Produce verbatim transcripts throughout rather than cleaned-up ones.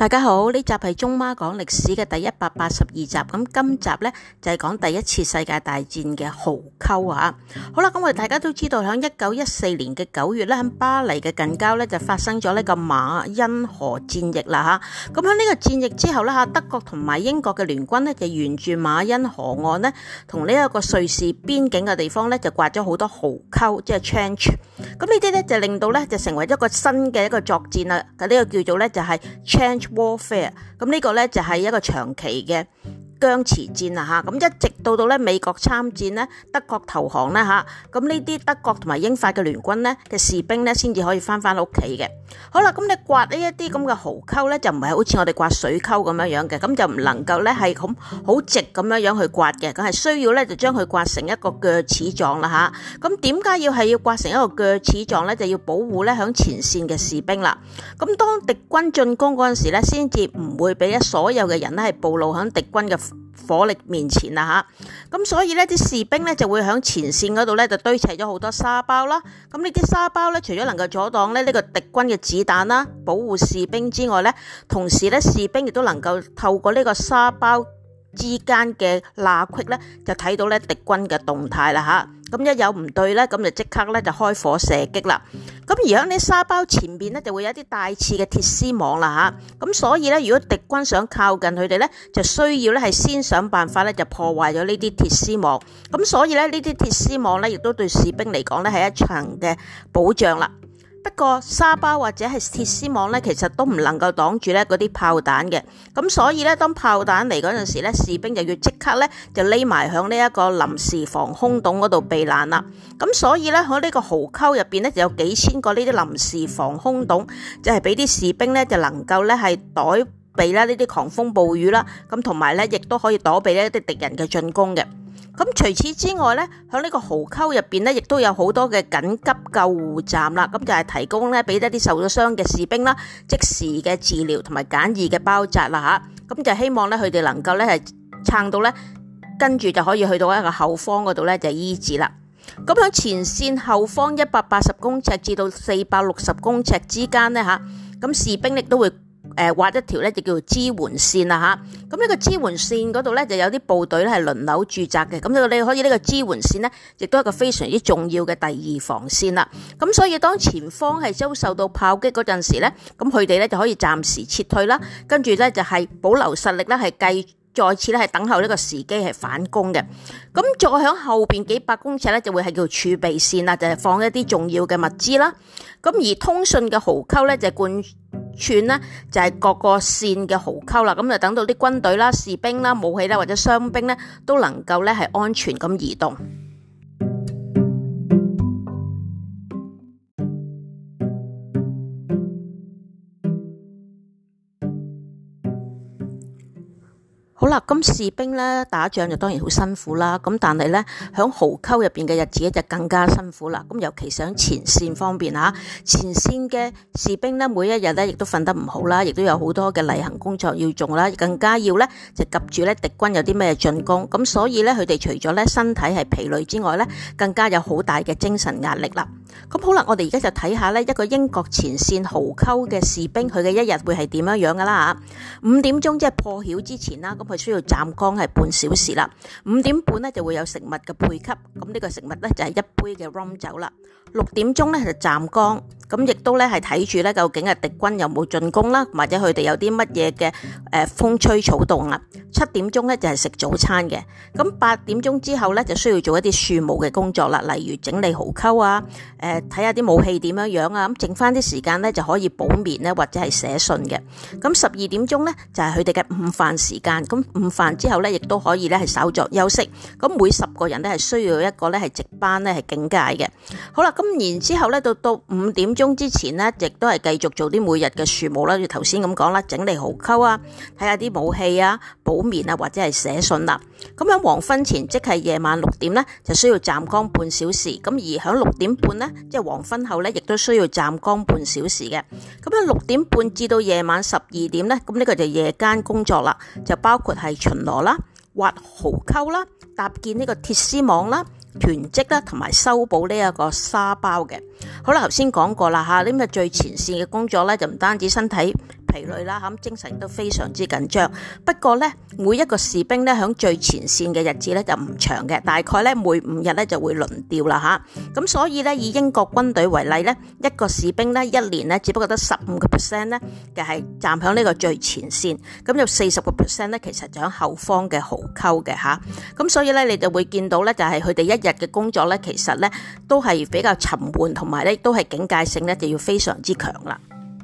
大家好，呢集係中媽講歷史嘅第一百八十二集，咁今集呢，就係講第一次世界大戰嘅壕溝啊！好啦，咁我哋大家都知道喺一九一四年嘅九月咧，喺巴黎嘅近郊呢，就發生咗呢個馬恩河戰役啦吓。咁喺呢個戰役之後呢，吓，德國同埋英國嘅聯軍呢，就沿住馬恩河岸呢，同呢一個瑞士邊境嘅地方呢，就挖咗好多壕溝，即係 trench。咁呢啲呢，就令到呢，就成為一個新嘅一個作戰啦。咁、這、呢個叫做呢，就係 trench warfare， 咁呢個咧就係一個長期嘅僵持戰啦吓，咁一直到到咧美國參戰咧，德國投降咧吓，咁呢啲德國同埋英法嘅聯軍咧嘅士兵咧先至可以翻翻屋企嘅。好啦，咁你刮呢一啲咁嘅壕溝咧，就唔係好似我哋刮水溝咁樣樣嘅，咁就唔能夠咧係咁好直咁樣樣去刮嘅，咁係需要咧就將佢刮成一個鋸齒狀啦吓。咁點解要係要刮成一個鋸齒狀咧？就要保護咧響前線嘅士兵啦。咁當敵軍進攻嗰陣時咧，先至唔會俾所有嘅人咧係暴露響敵軍嘅火力面前啦吓，咁所以呢啲士兵呢就會響前線嗰度呢就堆砌咗好多沙包啦。咁呢啲沙包呢，除咗能夠阻擋咧呢個敵軍嘅子彈啦，保護士兵之外呢，同時呢士兵亦都能夠透過呢個沙包之間嘅罅隙呢，就睇到呢敵軍嘅動態啦吓。咁一有唔對咧，咁就即刻咧就開火射擊啦。咁而喺呢沙包前邊咧，就會有一啲帶刺嘅鐵絲網啦吓。咁所以咧，如果敵軍想靠近佢哋咧，就需要咧係先想辦法咧就破壞咗呢啲鐵絲網。咁所以咧呢啲鐵絲網咧，亦都對士兵嚟講咧係一層嘅保障啦。不過沙包或者係鐵絲網咧，其實都唔能夠擋住咧嗰啲炮彈嘅。咁所以咧，當炮彈嚟嗰陣時咧，士兵就要即刻咧就匿埋響呢一個臨時防空洞嗰度避難啦。咁所以咧喺呢個壕溝入邊咧就有幾千個呢啲臨時防空洞，就係俾啲士兵咧就能夠咧係躲避啦呢啲狂風暴雨啦。咁同埋咧亦都可以躲避呢一啲敵人嘅進攻嘅。咁除此之外咧，喺呢個壕溝入邊咧，亦都有好多嘅緊急救護站啦。咁就係提供咧俾一啲受咗傷嘅士兵啦，即時嘅治療同埋簡易嘅包紮啦吓。咁就希望咧佢哋能夠咧係撐到咧，跟住就可以去到一個後方嗰度咧就醫治啦。咁喺前線後方一百八十公尺至到四百六十公尺之間咧吓，咁士兵亦都會誒畫一條咧就叫做支援線啦吓，咁呢個支援線嗰度咧就有啲部隊咧係輪流駐紮嘅，咁你可以呢個支援線咧亦都係一個非常之重要嘅第二防線啦。咁所以當前方係遭受到炮擊嗰陣時咧，咁佢哋咧就可以暫時撤退啦，跟住咧就係保留實力咧係繼再次咧係等候呢個時機係反攻嘅。咁再響後邊幾百公尺咧就會係叫儲備線啦，就係放一啲重要嘅物資啦。咁而通訊嘅壕溝咧就係貫串呢就係各個線嘅壕溝啦，咁就等到啲軍隊啦、士兵啦、武器啦或者傷兵咧都能夠咧係安全咁移動。好啦，咁士兵咧打仗就當然好辛苦啦，咁但係咧響壕溝入邊嘅日子咧就更加辛苦啦。咁尤其是喺前線方面吓，前線嘅士兵咧每一日咧亦都瞓得唔好啦，亦都有好多嘅例行工作要做啦，更加要咧就及住咧敵軍有啲咩進攻，咁所以咧佢哋除咗咧身體係疲累之外咧，更加有好大嘅精神壓力啦。咁好啦，我哋而家就睇下咧一個英國前線壕溝嘅士兵佢嘅一日會係點樣樣噶啦吓。五點鐘即係破曉之前啦，咁佢需要站崗係半小時啦。五點半咧就會有食物嘅配給，咁呢個食物咧就係一杯嘅 rum 酒啦。六點鐘咧就站崗，咁亦都咧係睇住咧究竟係敵軍有冇進攻啦，或者佢哋有啲乜嘢嘅誒風吹草動啊。七點鐘咧就係食早餐嘅，咁八點鐘之後咧就需要做一啲庶務嘅工作啦，例如整理壕溝啊，誒睇下啲武器點樣樣啊，咁剩翻啲時間咧就可以補眠咧或者係寫信嘅。咁十二點鐘咧就係佢哋嘅午飯時間，咁午飯之後咧亦都可以咧係稍作休息。咁每十個人咧係需要一個咧係值班咧係警戒嘅。好啦，咁然之後咧到到五點鐘之前咧，亦都係繼續做啲每日嘅庶務啦，要頭先咁講啦，整理壕溝啊，睇下啲武器啊，補眠啊或者係寫信啦。咁喺黃昏前即係夜晚六點咧，就需要站崗半小時。咁而喺六點半咧，即係黃昏後咧，亦都需要站崗半小時嘅。咁喺六點半至到夜晚十二點咧，咁呢個就夜間工作啦，就包括係巡邏啦、挖壕溝啦、搭建呢個鐵絲網啦、囤積啦，同埋修補呢一個沙包嘅。好啦，頭先講過啦吓，呢個最前線嘅工作咧，就唔單止身體疲累啦，咁精神都非常之緊張。不過咧，每一個士兵咧響最前線嘅日子咧就唔長嘅，大概咧每五日咧就會輪調啦吓。咁所以咧，以英國軍隊為例咧，一個士兵咧一年咧只不過得十五個 percent 咧嘅係站響呢個最前線，咁有四十個 percent 咧其實就響後方嘅壕溝嘅吓。咁所以咧，你就會見到咧，就係佢哋一日嘅工作咧，其實咧都係比較沉悶，同埋咧都係警戒性咧就要非常之強啦。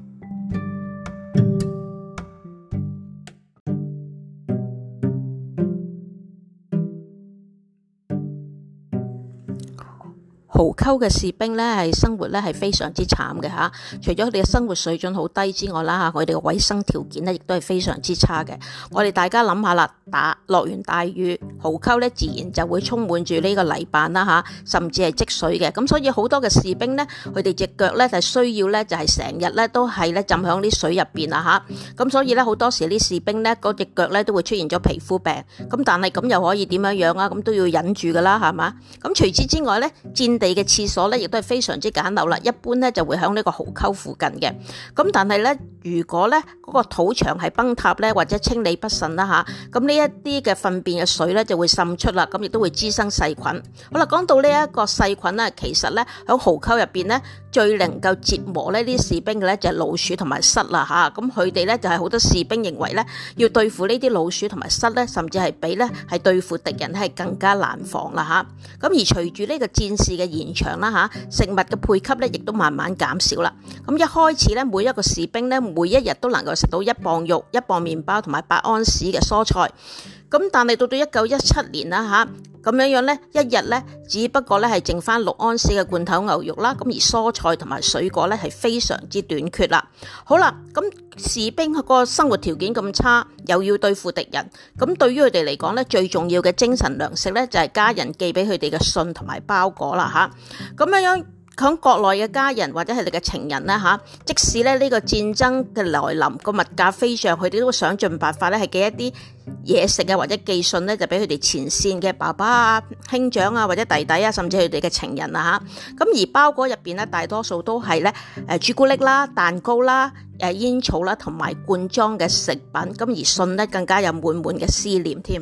壕溝嘅士兵咧係生活咧係非常之慘嘅吓，除咗佢哋嘅生活水準好低之外啦吓，佢哋嘅衛生條件咧亦都係非常之差嘅。我哋大家諗下啦，打落完大雨，壕溝咧自然就會充滿住呢個泥板啦吓，甚至係積水嘅。咁所以好多嘅士兵咧，佢哋隻腳咧就需要咧就係成日咧都係咧浸響啲水入邊啦吓。咁所以咧好多時啲士兵咧嗰隻腳咧都會出現咗皮膚病。咁但係咁又可以點樣樣啊？咁都要忍住噶啦，係嘛？咁除此之外咧，戰地嘅廁所咧，亦都係非常之簡陋啦。一般咧就會喺呢個壕溝附近嘅。咁但係咧，如果咧嗰個土牆係崩塌咧，或者清理不慎啦吓，咁呢一啲嘅糞便嘅水咧就會滲出啦，咁亦都會滋生細菌。好啦，講到呢一個細菌咧，其實咧喺壕溝入邊咧最能夠折磨呢啲士兵嘅咧就係老鼠同埋虱啦吓。咁佢哋咧就係好多士兵認為咧要對付呢啲老鼠同埋虱咧，甚至係比咧係對付敵人係更加難防啦吓。咁而隨住呢個戰事嘅延長啦吓，食物嘅配給咧亦都慢慢減少啦。咁一開始咧，每一個士兵咧每一日都能夠食到一磅肉、一磅麵包同埋八安士嘅蔬菜。咁但係到到一九一七年啦吓，咁樣樣咧，一日咧只不過咧係剩翻六安士嘅罐頭牛肉啦。咁而蔬菜同埋水果咧係非常之短缺啦。好啦，咁士兵個生活條件咁差，又要對付敵人，咁對於佢哋嚟講咧，最重要嘅精神糧食咧就係家人寄俾佢哋嘅信同埋包裹啦吓。咁樣樣。喺國內嘅家人或者係你嘅情人咧嚇，即使咧呢個戰爭嘅來臨，個物價飛漲，佢哋都會想盡辦法咧係寄一啲嘢食啊，或者寄信咧就俾佢哋前線嘅爸爸啊、兄長啊或者弟弟啊，甚至佢哋嘅情人啊嚇。咁而包裹入邊咧，大多數都係咧誒朱古力啦、蛋糕啦、誒煙草啦同埋罐裝嘅食品。咁而信咧更加有滿滿嘅思念添。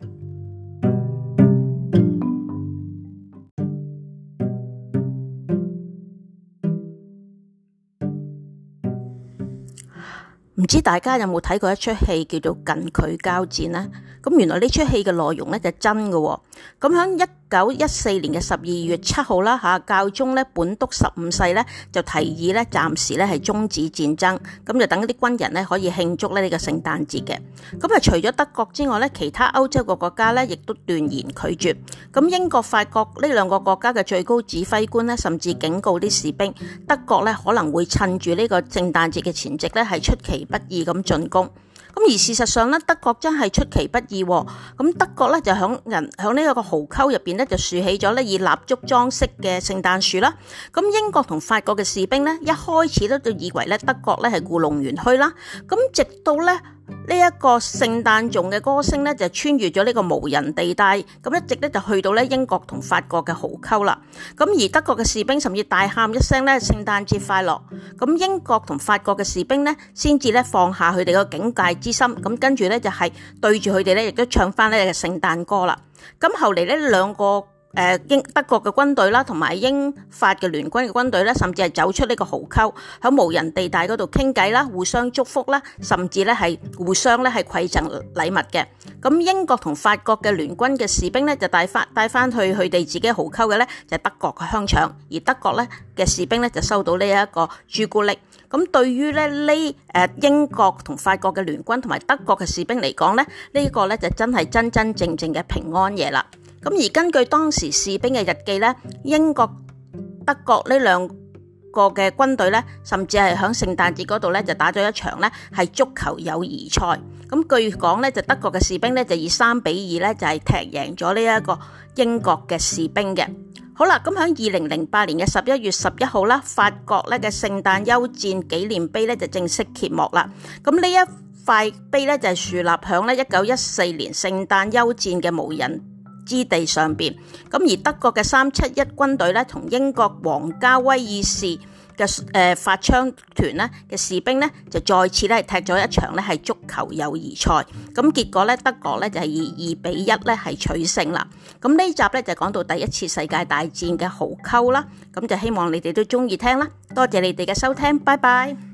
唔知大家有冇睇過一出戲叫做《近距交戰》呢？咁原來呢出戲嘅內容咧就真嘅。咁喺一九一四年嘅十二月七號啦嚇，教宗咧本篤十五世咧就提議咧暫時咧係終止戰爭，咁就等啲軍人咧可以慶祝咧呢個聖誕節嘅。咁啊除咗德國之外咧，其他歐洲嘅國家咧亦都斷然拒絕。咁英國、法國呢兩個國家嘅最高指揮官咧，甚至警告啲士兵，德國咧可能會趁住呢個聖誕節嘅前夕咧係出其不意咁進攻。咁而事實上咧，德國真係出其不意。咁德國咧就響人響呢一個壕溝入邊咧就豎起咗咧以蠟燭裝飾嘅聖誕樹啦。咁英國同法國嘅士兵咧一開始都就以為咧德國咧係故弄玄虛啦。咁直到咧呢一個聖誕頌嘅歌聲咧就穿越咗呢個無人地帶，咁一直咧就去到咧英國同法國嘅壕溝啦。咁而德國嘅士兵甚至大喊一聲咧聖誕節快樂。咁英國同法國嘅士兵咧先至咧放下佢哋個警戒之心，咁跟住咧就係對住佢哋咧亦都唱翻呢個聖誕歌啦。咁後嚟呢兩個誒英德國嘅軍隊啦，同埋英法嘅聯軍嘅軍隊咧，甚至係走出呢個壕溝，喺無人地帶嗰度傾偈啦，互相祝福啦，甚至咧係互相咧係饋贈禮物嘅。咁英國同法國嘅聯軍嘅士兵咧就帶翻帶翻去佢哋自己壕溝嘅咧就係德國嘅香腸，而德國咧嘅士兵咧就收到呢一個朱古力。咁對於咧呢誒英國同法國嘅聯軍同埋德國嘅士兵嚟講咧，呢個咧就真係真真正正嘅平安夜啦。咁而根據當時士兵嘅日記咧，英國、德國呢兩個嘅軍隊咧，甚至係喺聖誕節嗰度咧就打咗一場咧係足球友誼賽。咁據講咧就德國嘅士兵咧就以三比二咧就係踢贏咗呢一個英國嘅士兵嘅。好啦，咁喺二零零八年嘅十一月十一號啦，法國咧嘅聖誕休戰紀念碑咧就正式揭幕啦。咁呢一塊碑咧就係樹立響咧一九一四年聖誕休戰嘅無人之地上邊。咁而德國嘅三七一軍隊咧同英國皇家威爾士嘅誒法槍團咧嘅士兵咧就再次咧踢咗一場咧係足球友誼賽，咁結果咧德國咧就係以二比一咧係取勝啦。咁呢集咧就講到第一次世界大戰嘅壕溝啦，咁就希望你哋都中意聽啦，多謝你哋嘅收聽，拜拜。